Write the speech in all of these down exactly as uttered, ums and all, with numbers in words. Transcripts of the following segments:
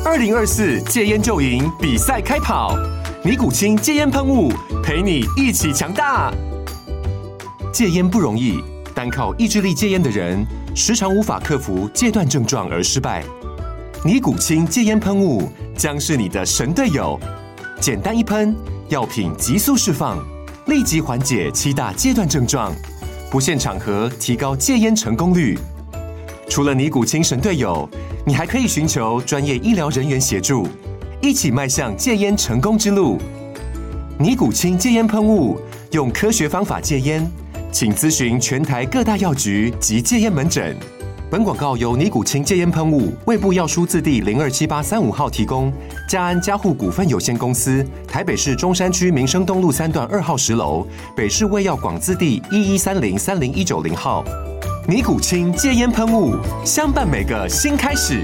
二零二四戒烟就赢比赛开跑，尼古清戒烟喷雾陪你一起强大。戒烟不容易，单靠意志力戒烟的人，时常无法克服戒断症状而失败。尼古清戒烟喷雾将是你的神队友，简单一喷，药品急速释放，立即缓解七大戒断症状，不限场合提高戒烟成功率。除了尼古清神队友，你还可以寻求专业医疗人员协助，一起迈向戒烟成功之路。尼古清戒烟喷雾，用科学方法戒烟，请咨询全台各大药局及戒烟门诊。本广告由尼古清戒烟喷雾、卫部药书字第零二七八三五号提供，嘉安嘉护股份有限公司，台北市中山区民生东路三段二号十楼，北市卫药广字第一一三零三零一九零号。尼古清戒烟喷雾，相伴每个新开始。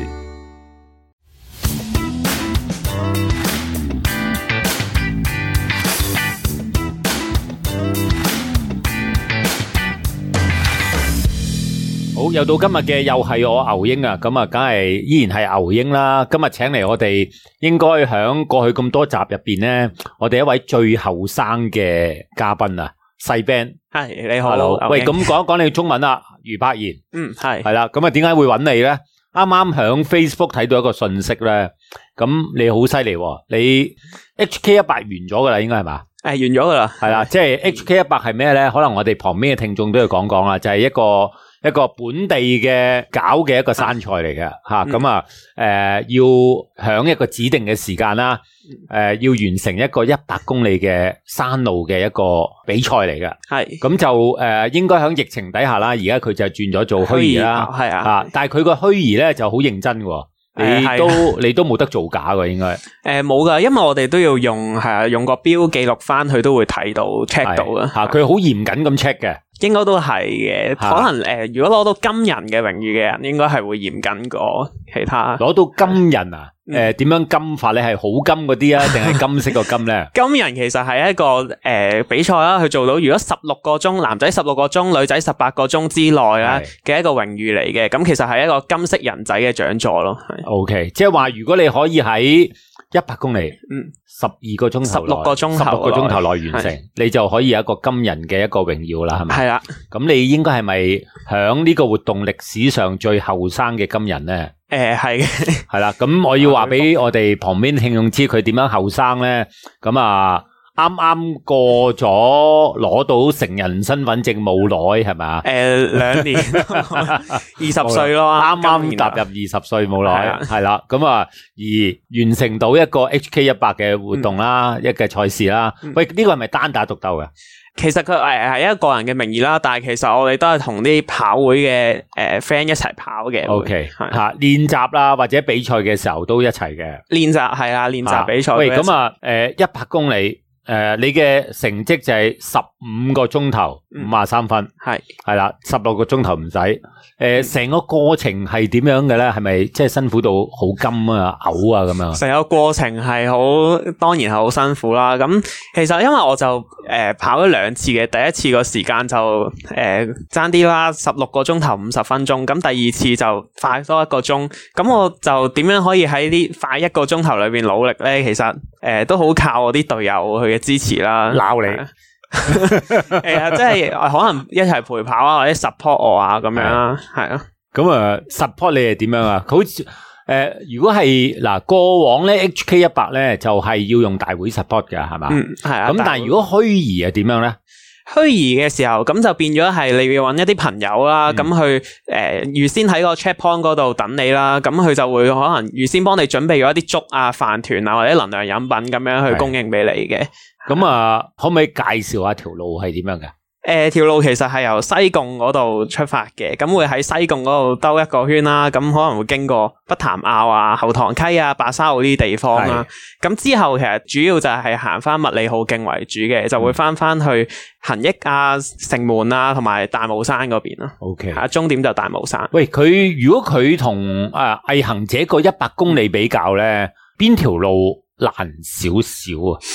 好，又到今日嘅又係我牛英啊，咁啊，梗係依然係牛英啦。今日請嚟我哋應該響過去咁多集入邊咧，我哋一位最後生嘅嘉賓啊，細 Ben。 係你好， Hello，喂，咁講一講你中文啦，余柏賢。 嗯，係係啦，咁啊，點解會揾你咧？啱啱響 Facebook 睇到一個信息咧，咁你好犀利喎，你 H K 一百完咗噶啦，應該係嘛？ 誒，完咗噶啦， 係啦，即係 H K 一百係咩咧？可能我哋旁邊嘅聽眾都要講講啦，就係一個。一個本地嘅搞嘅一個山賽嚟嘅吓，咁啊，誒、呃、要響一個指定嘅時間啦，誒、呃、要完成一個一百公里嘅山路嘅一個比賽嚟嘅，係，咁就誒、呃、應該響疫情底下啦，而家佢就轉咗做虛擬啦，係啊，啊，但係佢個虛擬咧就好認真嘅。你都、呃、你都冇得造假嘅，應該誒冇噶，因為我哋都要用係啊，用個錶記錄翻，佢都會睇到 check 到嘅吓，佢好嚴謹咁 check 嘅， 應該都係嘅。可能誒、呃，如果攞到金人嘅榮譽嘅人，應該係會嚴謹過其他。 攞到金人啊？誒、呃，點樣金法咧？係好金嗰啲啊，定係金色個金咧？ 金人其實係一個誒、呃、比賽啦，佢做到如果十六個鐘，男仔十六個鐘，女仔十八個鐘之內啦嘅一個榮譽嚟嘅。咁其實係一個金色人仔嘅獎座咯。 O K， 即係話如果你可以喺一百公里，嗯，十二個鐘頭，十六個鐘頭，十六個鐘頭內完成，你就可以有一個金人嘅一個榮耀啦，係咪？係啦。咁你應該係咪響呢個活動歷史上最後生嘅金人咧？ 誒，係嘅， 係啦，咁我要話俾我哋旁邊聽眾知佢點樣後生咧，咁啊，啱啱過咗攞到成人身份證冇耐係咪？ 誒，兩年，二十歲咯， 啱啱踏入二十歲冇耐，係啦，咁啊，而完成到一個 H K 一百嘅活動啦，嗯、一嘅賽事啦，嗯、喂，呢、這個係咪單打獨鬥嘅？ 其實佢誒係一個個人嘅名義啦，但係其實我哋都係同啲跑會嘅誒 friend 一齊跑嘅。 O K， 吓練習啦，或者比賽嘅時候都一齊嘅。 練習係啦，練習比賽。 喂，咁啊，誒一百公里。誒、呃，你嘅成績就係十五個鐘頭五十三分，係係啦，十六個鐘頭唔使。誒、呃，成個過程係點樣嘅咧？係咪即係辛苦到好金啊、嘔啊咁樣？成個過程係好，當然係好辛苦啦。咁其實因為我就誒、呃、跑咗兩次嘅，第一次個時間就誒爭啲啦，十六個鐘頭五十分鐘。咁第二次就快多一個鐘。咁我就點樣可以喺呢快一個鐘頭裏邊努力咧？其實誒、呃、都好靠我啲隊友去。支持啦，鬧你，係啊，即係可能一齊陪跑啊，或者 support 我啊，咁樣啦，係啊。咁啊 ，support 你係點樣啊？好似誒、呃，如果係嗱過往咧 H K 一百咧，就係、是、要用大會 support 嘅，係嘛？嗯，係啊。咁但係如果虛擬係點樣咧？虛擬嘅時候，咁就變咗係你要揾一啲朋友啦，咁、嗯、去誒預、呃、先喺個 checkpoint 嗰度等你啦，咁佢就會可能預先幫你準備咗一啲粥啊、飯團啊或者能量飲品咁樣去供應俾你嘅。咁啊，可唔可以介紹下條路係點樣嘅？誒、呃，條路其實係由西貢嗰度出發嘅，咁會喺西貢嗰度兜一個圈啦，咁可能會經過北潭坳啊、後塘溪啊、白沙澳呢啲地方啦。咁之後其實主要就係行翻麥理浩徑為主嘅，就會翻翻去恒益啊、城門啊同埋大帽山嗰邊咯。OK， 啊，終點就大帽山。喂，佢如果佢同誒毅行者個一百公里比較咧，邊條路難少少啊？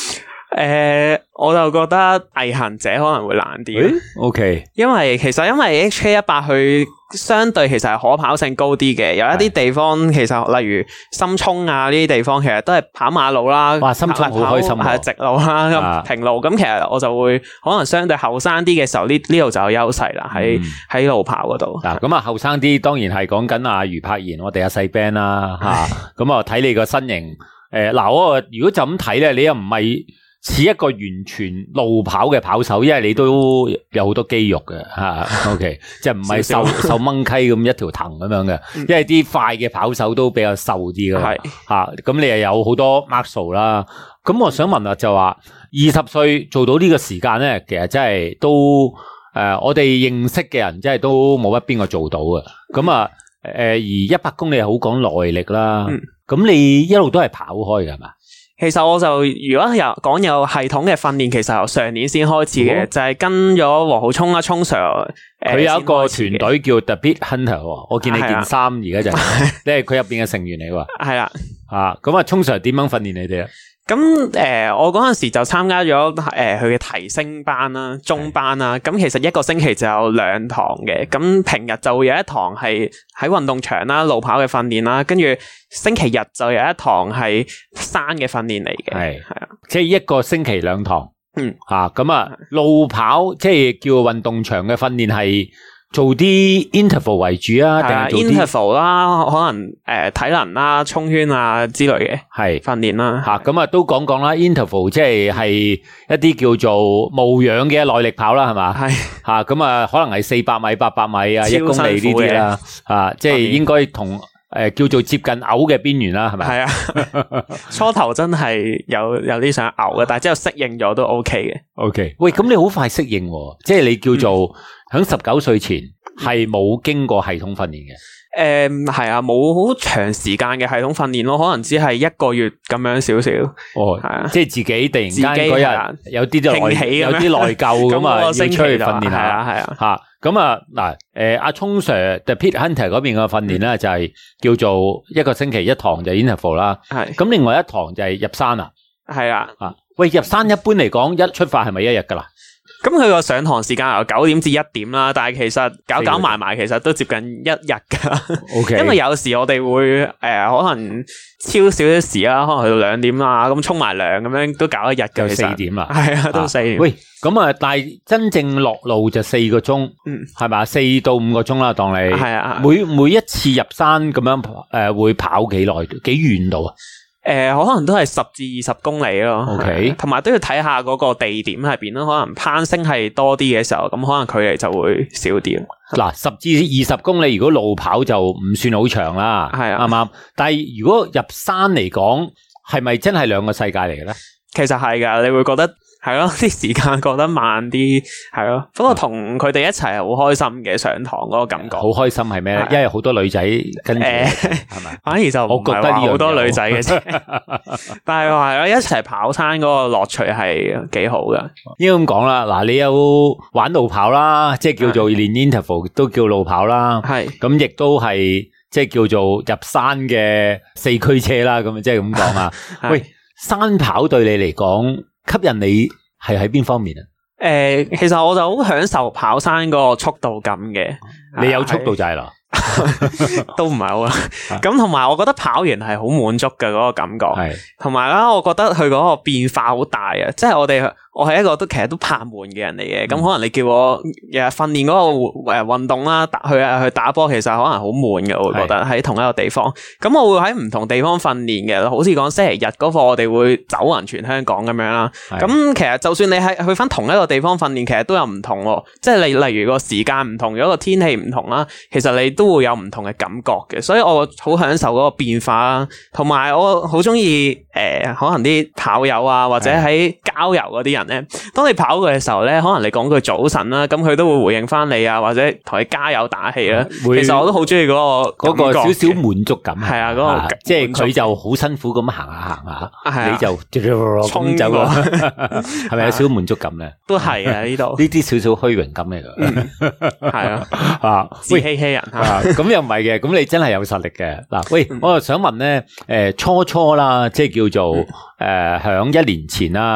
誒、呃，我就覺得毅行者可能會難啲。 O K， 因為其實因為 H K 一百佢相對其實係可跑性高啲嘅，有一啲地方其實例如深涌啊呢啲地方，其實都係跑馬路啦。 哇，深涌好開心啊！ 係直路啦，咁平路咁，其實我就會可能相對後生啲嘅時候，呢呢度就有優勢啦，喺喺路跑嗰度。 嗱，咁啊後生啲當然係講緊阿余柏賢，我哋阿細 band 啦吓，咁啊睇你個身形，誒嗱，我如果就咁睇咧，你又唔係似一個完全路跑嘅跑手，因為你都有好多肌肉嘅吓 ，OK， 即係唔係瘦瘦掹溪咁一條藤咁樣嘅，因為啲快嘅跑手都比較瘦啲嘅，係吓，咁你又有好多 muscle 啦。咁我想問啊，就話二十歲做到呢個時間咧，其實真係都誒、呃，我哋認識嘅人真係都冇乜邊個做到嘅。咁啊，誒、呃、而一百公里係好講耐力啦。咁、嗯、你一路都係跑開嘅係嘛？ 其實我就如果有講有系統嘅訓練，其實由上年先開始嘅，哦、就係跟咗黃浩聰啦，聰 Sir，佢有一個團隊叫 The Beat Hunter， 我見你件衫而家就係，你係佢入邊嘅成員嚟喎。係啦，啊，咁啊，聰 Sir 點樣訓練你哋啊？ 咁誒、呃，我嗰陣時就參加咗誒佢嘅提升班啦、中班啦。咁其實一個星期就有兩堂嘅。咁平日就會有一堂係喺運動場啦、路跑嘅訓練啦，跟住星期日就有一堂係山嘅訓練嚟嘅。係係啊， 即係一個星期兩堂。嗯，吓咁啊，路跑即係叫運動場嘅訓練係做啲 interval 為主啊，定係做啲 interval 啦，可能誒、呃、體能啦、衝圈啊之類嘅係訓練啦。 吓咁啊，都講講啦 interval 即係係一啲叫做無氧嘅耐力跑啦，係嘛？係吓咁啊，可能係四百米、八百米啊、一公里呢啲啦。啊，即係應該同誒、呃、叫做接近嘔嘅邊緣啦，係咪？係啊， 初頭真係有有啲想嘔嘅，但係之後適應咗都 OK 嘅。 OK， 喂，咁你好快適應，即係你叫做喺十九歲前係冇經過系統訓練嘅。 誒，係啊，冇好長時間嘅系統訓練咯，可能只係一個月咁樣少少。哦，係啊， 即係自己突然間嗰日有啲就內有啲內疚咁啊，要出去訓練下。係啊，係啊，吓咁啊嗱，誒阿聰 Sir The Pit Hunter 嗰邊嘅訓練咧就係叫做一個星期一堂就 interval 啦。係，咁另外一堂就係入山啊。係啊，啊喂，入山一般嚟講一出發係咪一日噶啦？ 咁佢個上堂時間由九點至一點啦，但係其實搞搞埋埋，其實都接近一日噶。Okay. 因為有時我哋會誒、呃、可能超少少時啦，可能去到兩點啦，咁沖埋涼咁樣都搞一日嘅。 四點啦， 係啊，都四點。 喂，咁啊，但係真正落路就四個鐘，嗯，係嘛，四到五個鐘啦，當你係啊，每每一次入山咁樣誒、呃，會跑幾耐，幾遠度啊？ 誒、呃，可能都係十至二十公里咯。 OK， 同埋都要睇下嗰個地點喺邊咯。可能攀升係多啲嘅時候，咁可能距離就會少啲。 嗱，十至二十公里，如果路跑就唔算好長啦，係啊，啱啱？但係如果入山嚟講，係咪真係兩個世界嚟嘅咧？ 其實係噶，你會覺得。係咯，啲時間過得慢啲，係咯。不過同佢哋一齊係好開心嘅，上堂嗰個感覺。 好開心係咩咧？因為好多女仔跟住，係咪？ 反而就我覺得好多女仔嘅啫。但係話係咯，一齊跑山嗰個樂趣係幾好噶。 應該咁講啦，嗱，你有玩路跑啦，即係叫做練 interval 都叫路跑啦。係咁，亦都係即係叫做入山嘅四驅車啦。咁即係咁講啊。喂，山跑對你嚟講，吸引你係喺邊方面啊？ 誒、呃，其實我就好享受跑山嗰個速度感嘅。 你有速度就係啦， 都唔係好啦。咁同埋，我覺得跑完係好滿足嘅嗰、那個感覺。係同埋啦，我覺得佢嗰個變化好大啊！即係我哋。我係一個都其實都怕悶嘅人嚟嘅，咁、嗯、可能你叫我日日訓練嗰個誒運動啦，打去去打波，其實可能好悶嘅，我會覺得喺同一個地方。咁我會喺唔同地方訓練嘅，好似講星期日嗰課，我哋會走勻全香港咁樣啦。咁其實就算你喺去翻同一個地方訓練，其實都有唔同喎。即係例例如個時間唔同，如果個天氣唔同啦，其實你都會有唔同嘅感覺嘅。所以我好享受嗰個變化啦，同埋我好中意誒，可能啲跑友啊，或者喺郊遊嗰啲人。當你跑過嘅時候咧，可能你講句早晨啦，咁佢都會回應翻你啊，或者同你加油打氣啦。其實我都好中意嗰個嗰個少少滿足感。 係啊，嗰個即係佢就好辛苦咁行下行下，你就衝走咯，係咪有少少滿足感咧？ 都係啊，呢度呢啲少少虛榮感嚟噶。係啊，啊自欺欺人啊，咁又唔係嘅，咁你真係有實力嘅。嗱，喂，我又想問咧，誒，初初啦，即係叫做誒，響一年前啦。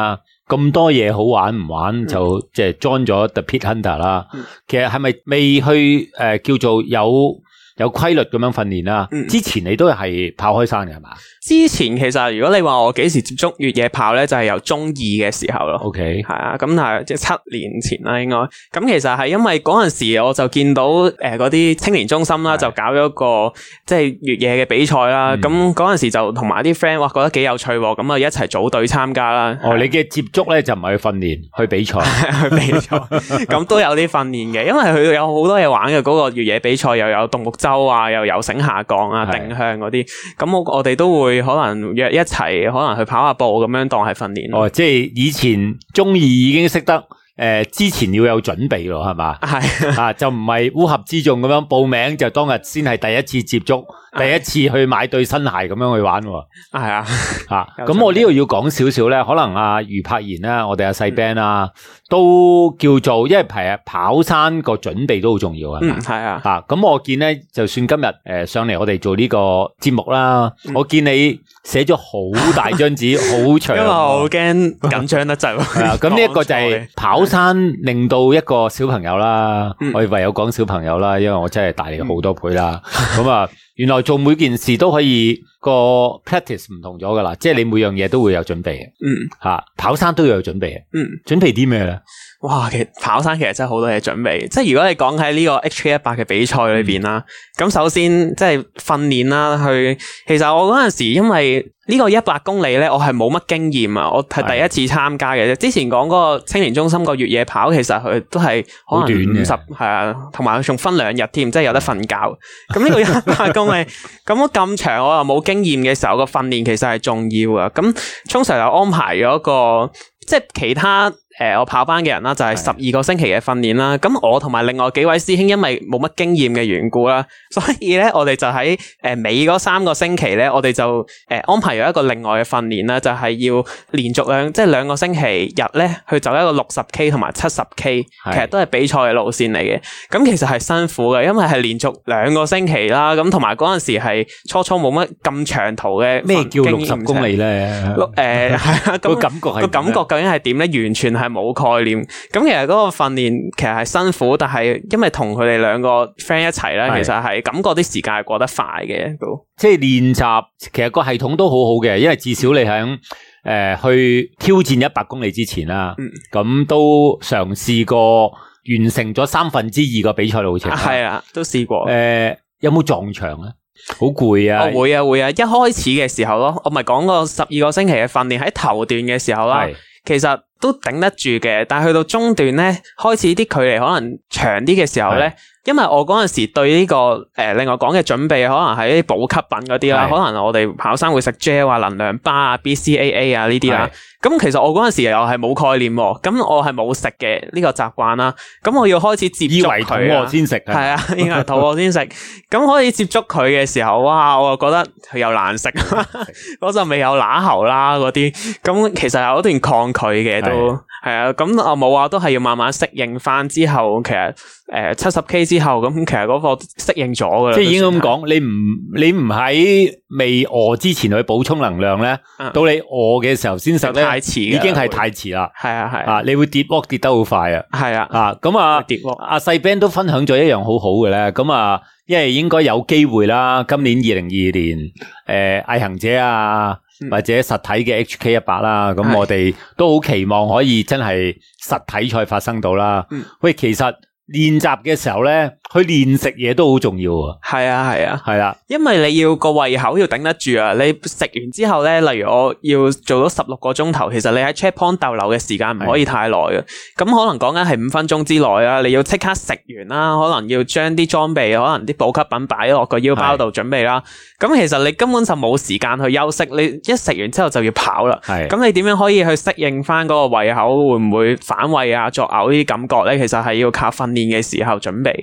咁多嘢好玩唔玩，嗯、就即係 join 咗 The Pit Hunter 啦。嗯、其實係咪未去誒、呃、叫做有有規律咁樣訓練啦？嗯、之前你都係跑開山嘅係嘛？ 之前其實如果你話我幾時接觸越野跑咧，就係、是、由中二嘅時候咯。 OK， 係啊，咁係即係七年前啦，應該。咁其實係因為嗰陣時我就見到誒嗰啲青年中心啦，就搞咗個即係越野嘅比賽啦。咁嗰陣時就同埋啲 friend 哇覺得幾有趣，咁啊一齊組隊參加啦。 哦，你嘅接觸咧就唔係去訓練，去比賽， 去比賽。咁都有啲訓練嘅，因為佢有好多嘢玩嘅。嗰、那個越野比賽又有獨木舟啊，又有繩下降啊、定向嗰啲。咁我我哋都會。可能約一齊，可能去跑下步咁樣當係訓練。 哦，即係以前中二已經識得誒、呃，之前要有準備咯，係嘛？係啊，就唔係烏合之眾咁樣報名，就當日先係第一次接觸，第一次去買對新鞋咁樣去玩。係啊， 啊，咁我呢度要講少少咧，可能阿余柏賢啦，我哋阿細 band 啊。嗯都叫做，因為係啊跑山個準備都好重要啊。 嗯，係啊。 吓咁我見咧，就算今日誒上嚟我哋做呢個節目啦，嗯、我見你寫咗好大張紙，好長。因為我好驚緊張得滯。 係啊，咁呢一個就係跑山令到一個小朋友啦，嗯、我唯有講小朋友啦，因為我真係大你好多倍啦。咁啊、嗯，原來做每件事都可以個 practice 唔同咗噶啦，即係你每樣嘢都會有準備嘅。嗯，吓跑山都要有準備嘅。嗯，準備啲咩咧？ 哇，其實跑山其實真係好多嘢準備，即係如果你講喺呢個 H K 一百嘅比賽裏邊啦，咁、嗯、首先即係訓練啦，去其實我嗰陣時因為呢個一百公里咧，我係冇乜經驗啊，我係第一次參加嘅啫。之前講嗰個青年中心個越野跑，其實佢都係可能五十係啊，同埋佢仲分兩日添，即係有得瞓覺。咁呢個一百公里咁咁長，我又冇經驗嘅時候，個訓練其實係重要啊。咁通常又安排咗個即係其他。誒、呃，我跑班嘅人啦，就係十二個星期嘅訓練啦。咁我同埋另外幾位師兄，因為冇乜經驗嘅緣故啦，所以咧我哋就喺誒尾嗰三個星期咧，我哋就誒、呃、安排咗一個另外嘅訓練啦，就係、是、要連續兩即係兩個星期日咧去走一個六十 K 同埋七十 K，其實都係比賽嘅路線嚟嘅。咁其實係辛苦嘅，因為係連續兩個星期啦。咁同埋嗰陣時係初初冇乜咁長途嘅。 咩叫六十公里咧？ 六誒係啊，個感覺係個感覺究竟係點咧？完全係。係冇概念，咁其實嗰個訓練其實係辛苦，但係因為同佢哋兩個 friend 一齊咧，其實係感覺啲時間係過得快嘅，都即係練習，其實個系統都好好嘅，因為至少你喺誒、呃、去挑戰一百公里之前啦，咁、嗯、都嘗試過完成咗三分之二個比賽路程， 係啊，都試過。 誒、呃，有冇撞牆咧？好攰啊！ 我會啊會啊，一開始嘅時候咯，我咪講過十二個星期嘅訓練喺頭段嘅時候啦，其實。都頂得住嘅，但係去到中段咧，開始啲距離可能長啲嘅時候咧，因為我嗰陣時對呢、這個誒、呃、另外講嘅準備，可能係啲補給品嗰啲啦，可能我哋跑山會食 gel 啊、能量巴啊、B C A A 啊呢啲啦。咁其實我嗰陣時又係冇概念，咁我係冇食嘅呢個習慣啦。咁我要開始接觸佢啊， 先食係啊，應該係肚餓先食。咁開始接觸佢嘅時候，哇！我就覺得佢又難食，嗰陣味又乸喉啦嗰啲。咁其實有一段抗拒嘅都係啊。咁我冇話都係要慢慢適應翻之後，其實誒七十 K 之後，咁其實嗰個適應咗噶啦。 即係已經咁講，你唔你唔喺未餓之前去補充能量咧，嗯、到你餓嘅時候先食咧。 太遲， 已經係太遲啦。 係啊係啊，你會跌窩跌得好快啊。係啊啊，咁啊，跌窩。阿細 Ben 都分享咗一樣好好嘅咧。咁啊，因為應該有機會啦。今年二零二二年，誒、呃，毅行者啊，嗯、或者實體嘅 H K 一百啦，咁我哋都好期望可以真係實體賽發生到啦。嗯、喂，其實。練習嘅時候咧，去練食嘢都好重要啊！ 係啊，係啊， 係啦， 因為你要個胃口要頂得住啊！你食完之後咧，例如我要做到十六個鐘頭，其實你喺 checkpoint 逗留嘅時間唔可以太耐啊！咁可能講緊係五分鐘之內啊，你要即刻食完啦，可能要將啲裝備，可能啲補給品擺落個腰包度準備啦。咁其實你根本就冇時間去休息，你一食完之後就要跑啦。係咁，你點樣可以去適應翻嗰個胃口？會唔會反胃啊、作嘔呢啲感覺咧？其實係要靠訓練嘅時候準備嘅。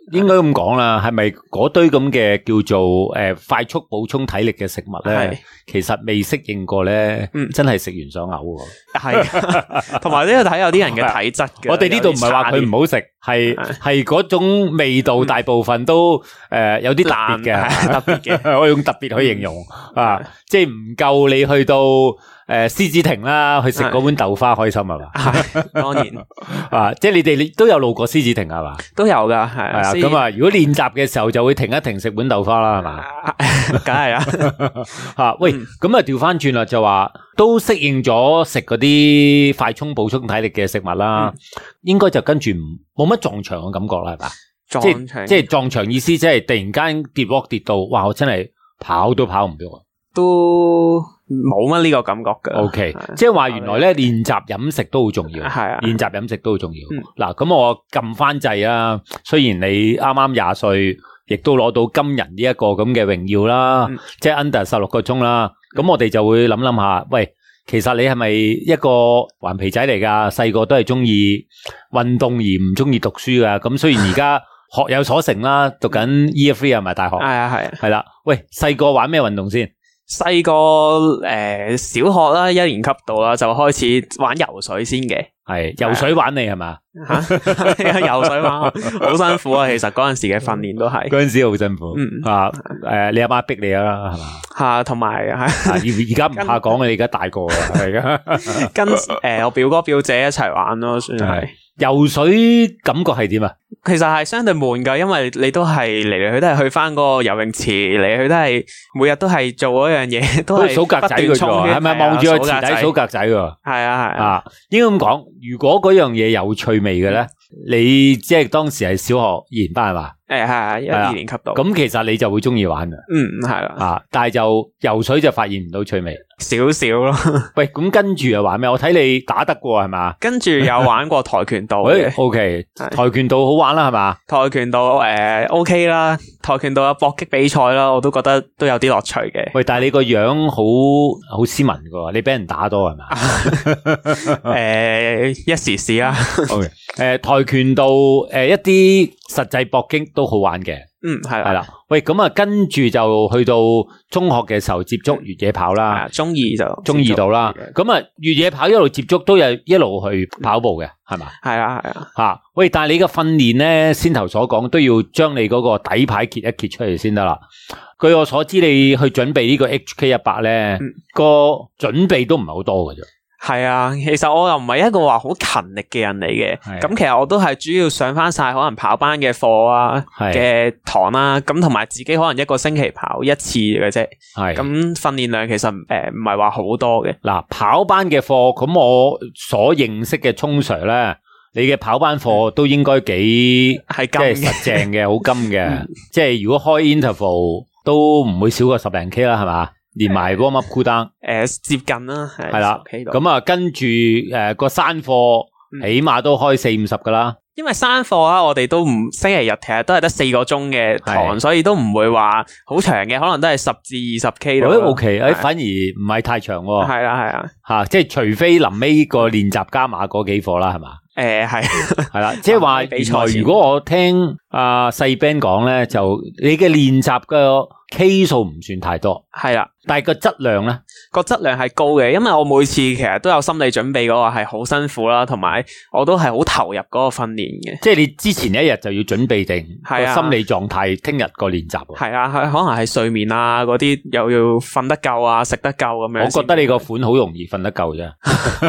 應該咁講啦，係咪嗰堆咁嘅叫做誒、呃、快速補充體力嘅食物咧？其實未適應過咧，嗯、真係食完想嘔喎。 係，同埋呢個睇有啲人嘅體質嘅。 我哋呢度唔係話佢唔好食，係係嗰種味道大部分都誒、呃、有啲特別嘅， 特別嘅， 我用特別去形容啊，即係唔夠你去到。誒，獅子亭啦，去食嗰碗豆花開心係嘛？ 係，當然啊，即係你哋都有路過獅子亭係嘛？ 都有噶，係係啊。咁啊，如果練習嘅時候就會停一停食碗豆花啦，係嘛？ 梗係啦。 吓，喂，咁啊調翻轉啦，就話都適應咗食嗰啲快充補充體力嘅食物啦，嗯、應該就跟住冇乜撞牆嘅感覺啦，係嘛？ 撞牆即係撞牆意思，即係突然間跌落跌到，哇！我真係跑都跑唔到啊！ 都冇乜呢個感覺嘅。 O K，即係話原來咧練習飲食都好重要。係啊，練習飲食都好重要。嗱、嗯，咁我撳翻掣啊。雖然你啱啱廿歲，亦都攞到金人呢一個咁嘅榮耀啦，嗯、即係 under 十六個鐘啦。咁、嗯、我哋就會諗諗下，喂，其實你係咪一個頑皮仔嚟噶？細個都係中意運動而唔中意讀書噶。咁雖然而家學有所成啦，讀緊 Year Three 係咪大學？係啊係啊。係啦，喂，細個玩咩運動先？ 細個誒，小學啦，一年級度啦，就開始玩游水先嘅。 係游水玩你係嘛？ 吓，游水玩好辛苦啊！其實嗰陣時嘅訓練都係嗰陣時好辛苦。嗯啊，誒，你阿媽逼你啦，係嘛？ 吓，同埋係而而家唔怕講嘅，你而家大個啦，係噶。 跟誒，我表哥表姐一齊玩咯，算係。 游水感覺係點啊？ 其實係相對悶噶，因為你都係嚟嚟去都係去翻嗰個游泳池，嚟嚟去都係每日都係做嗰樣嘢，都係數格仔嘅啫，係咪望住個池底數格仔噶？ 係啊係啊，應該咁講，如果嗰樣嘢有趣味嘅咧，你即係當時係小學二年班係嘛？ 誒係啊，一二年級度。 咁其實你就會中意玩嘅。 嗯，係啦。 啊，但係就游水就發現唔到趣味， 少少咯。 喂，咁跟住又玩咩？我睇你打得過係嘛？ 跟住有玩過跆拳道嘅。 O K，跆拳道好玩啦係嘛？ 跆拳道誒 O K 啦，跆拳道有搏擊比賽啦，我都覺得都有啲樂趣嘅。 喂，但係你個樣好好斯文噶，你俾人打多係嘛？ 誒，一時試啦。 O K，誒，跆拳道誒一啲實際搏擊都好玩嘅。 嗯，係係啦。喂，咁啊，跟住就去到中學嘅時候接觸越野跑啦。 嗯、中二就中二度啦。咁啊，越野跑一路接觸都有一路去跑步嘅，係嘛？ 係啊，係啊。吓， 喂，但係你嘅訓練咧，先頭所講都要將你嗰個底牌揭一揭出嚟先得啦。據我所知，你去準備呢個 H K 一百咧，個、嗯、準備都唔係好多嘅啫。 係啊，其實我又唔係一個話好勤力嘅人嚟嘅，咁其實我都係主要上翻晒可能跑班嘅課啊嘅堂啦，咁同埋自己可能一個星期跑一次嘅啫，係咁訓練量其實誒唔係話好多嘅。嗱， 跑班嘅課，咁我所認識嘅聰 Sir 咧，你嘅跑班課都應該幾係即係實正嘅，好金嘅，嗯、即係如果開 interval 都唔會少過十零 K 啦，係嘛？連埋 warm up cool down， 誒接近啦， 係啦，咁啊跟住誒個山課起碼都開四五十噶啦。 因為山課啊，我哋都唔星期日其實都係得四個鐘嘅堂，所以都唔會話好長嘅，可能都係十至二十 K 度。 O K，誒反而唔係太長喎。 係啦係啊， 吓即係除非臨尾個練習加碼嗰幾課啦，係嘛？ 誒係係啦，即係話原來如果我聽阿細 Ben 講咧，就你嘅練習嘅 K 數唔算太多， 係啦， 但係個質量咧， 個質量係高嘅，因為我每次其實都有心理準備嗰個係好辛苦啦，同埋我都係好投入嗰個訓練嘅。 即係你之前一日就要準備定個心理狀態，聽日個練習。 係啊，可能係睡眠啊嗰啲又要瞓得夠啊，食得夠咁樣。 我覺得你個款好容易瞓得夠啫。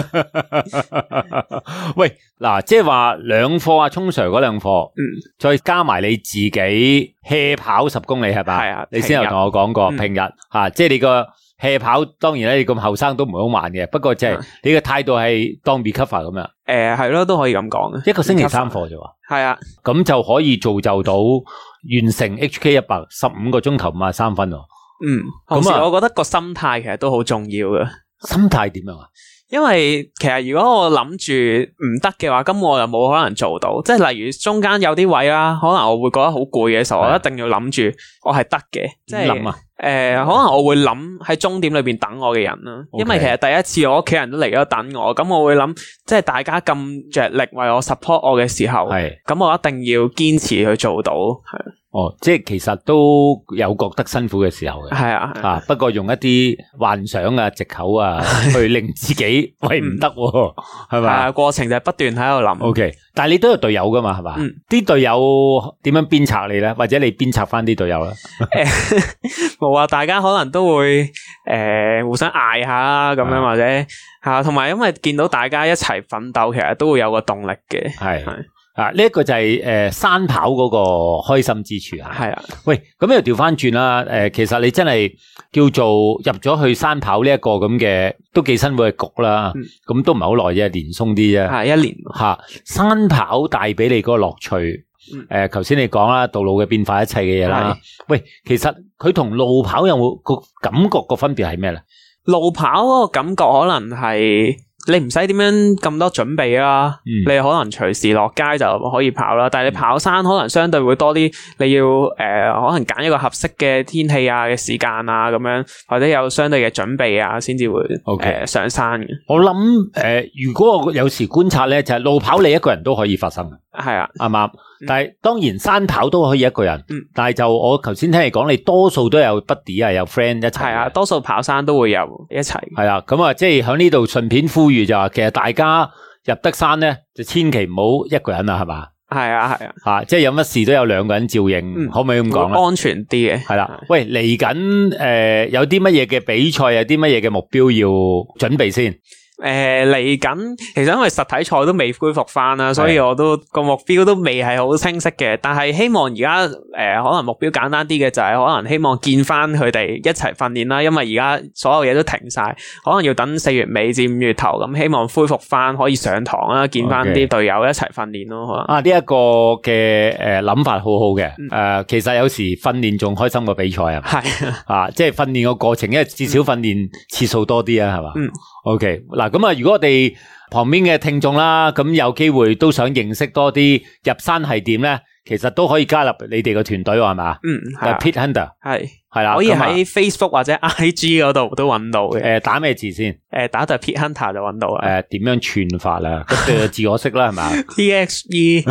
喂，嗱，即係話兩課啊，聰 Sir 嗰兩課，嗯，再加埋你自己 hea 跑十公里係吧？係啊，你先有同我講過平日吓、嗯啊，即係你個 hea 跑，當然咧你咁後生都唔會好慢嘅，不過即係你嘅態度係當 recover 咁樣。誒、 呃，係咯，都可以咁講。 一個星期三課啫喎。係啊，咁就可以造就到完成 H K 一百十五個鐘頭五十三分喎。 嗯，同時我覺得個心態其實都好重要嘅。 心態點樣啊？ 因為其實如果我諗住唔得嘅話，咁我又冇可能做到。即係例如中間有啲位啦，可能我會覺得好攰嘅時候，我一定要諗住我係得嘅。即係諗啊，誒、呃，可能我會諗喺終點裏邊等我嘅人啦。Okay. 因為其實第一次我屋企人都嚟咗等我，咁我會諗，即係大家咁着力為我 support 我嘅時候，咁我一定要堅持去做到。係。 哦，即係其實都有覺得辛苦嘅時候嘅， 係啊， 啊，不過用一啲幻想啊、藉口啊，去令自己喂唔得，係咪？係啊， 過程就係不斷喺度諗。 O K，但係你都有隊友噶嘛，係嘛？啲隊友點樣鞭策你咧？或者你鞭策翻啲隊友咧？ 冇啊，大家可能都會誒互相嗌下啦，咁樣或者吓，同埋因為見到大家一齊奮鬥，其實都會有個動力嘅，係。 啊！呢、這、一個就係、是、誒、呃、山跑嗰個開心之處啊！ 係啊， 喂，咁又調翻轉啦！誒、呃，其實你真係叫做入咗去山跑呢一個咁嘅都幾辛苦嘅局啦。咁、嗯、都唔係好耐啫，年鬆啲啫。 係一年吓、啊，山跑帶俾你嗰個樂趣。誒、嗯，頭先、呃、你講啦，道路嘅變化，一切嘅嘢啦。喂，其實佢同路跑有冇個感覺個分別係咩咧？ 路跑嗰個感覺可能係。你唔使點樣咁多準備啦，嗯、你可能隨時落街就可以跑啦。但係你跑山可能相對會多啲，你要誒、呃、可能揀一個合適嘅天氣啊嘅時間啊咁樣，或者有相對嘅準備啊，先至會誒、 okay. 呃、上山嘅。 我諗誒、呃，如果我有時觀察咧，就係、是、路跑你一個人都可以發生嘅， 係啊， 啱啱？但係當然山跑都可以一個人， 嗯、 但係就我頭先聽你講，你多數都有 buddy 啊，有 friend 一齊， 係啊，多數跑山都會有一齊， 係啊，咁啊，即係喺呢度順便呼籲就話，其實大家入得山咧，就千祈唔好一個人啦，係嘛？ 係啊，係啊， 吓，即係有乜事都有兩個人照應，嗯、可唔可以咁講咧？ 安全啲嘅， 係啦。喂，嚟緊誒，有啲乜嘢嘅比賽，有啲乜嘢嘅目標要準備先？ 誒，嚟緊，其實因為實體賽都未恢復翻啦，所以我都個目標都未係好清晰嘅。但係希望而家誒，可能目標簡單啲嘅就係可能希望見翻佢哋一齊訓練啦。因為而家所有嘢都停晒，可能要等四月尾至五月頭咁，希望恢復翻可以上堂啦，見翻啲隊友一齊訓練咯。可能啊，呢一個嘅誒諗法好好嘅。誒，其實有時訓練仲開心過比賽啊。 係啊，即係訓練個過程，因為至少訓練次數多啲啊，係嘛？嗯。OK，嗱咁啊，如果我哋旁邊嘅聽眾啦，咁有機會都想認識多啲入山係點咧，其實都可以加入你哋個團隊係嘛？ 嗯， 係 Pit Hunter 係係啦， 可以喺 Facebook 或者 I G 嗰度都揾到嘅。 誒，打咩字先？ 誒，打就 Pit Hunter 就揾到啦。 誒，點樣串法啦？個字我識啦，係嘛 ？T X E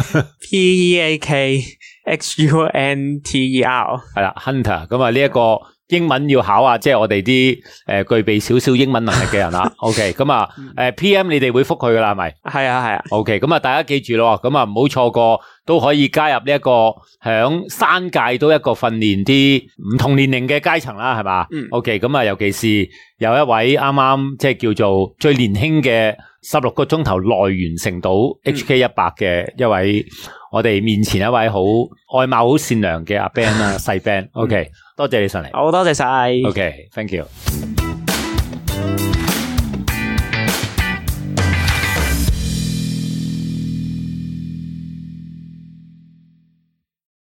P E A K X U N T E R 係啦 ，Hunter 咁啊呢一個。英文要考啊，即係我哋啲誒具備少少英文能力嘅人啦。OK，咁啊，誒 P M 你哋會覆佢噶啦，係咪？ 係啊，係啊。OK， 咁啊，大家記住咯，咁啊唔好錯過，都可以加入呢一個響山界都一個訓練啲唔同年齡嘅階層啦，係嘛？嗯。OK，咁啊，尤其是有一位啱啱即係叫做最年輕嘅十六個鐘頭內完成到 H K 一百嘅一位，我哋面前一位好外貌好善良嘅阿 Ben 啦，細 Ben。OK，多謝你上嚟。 好多謝晒。 OK，thank you。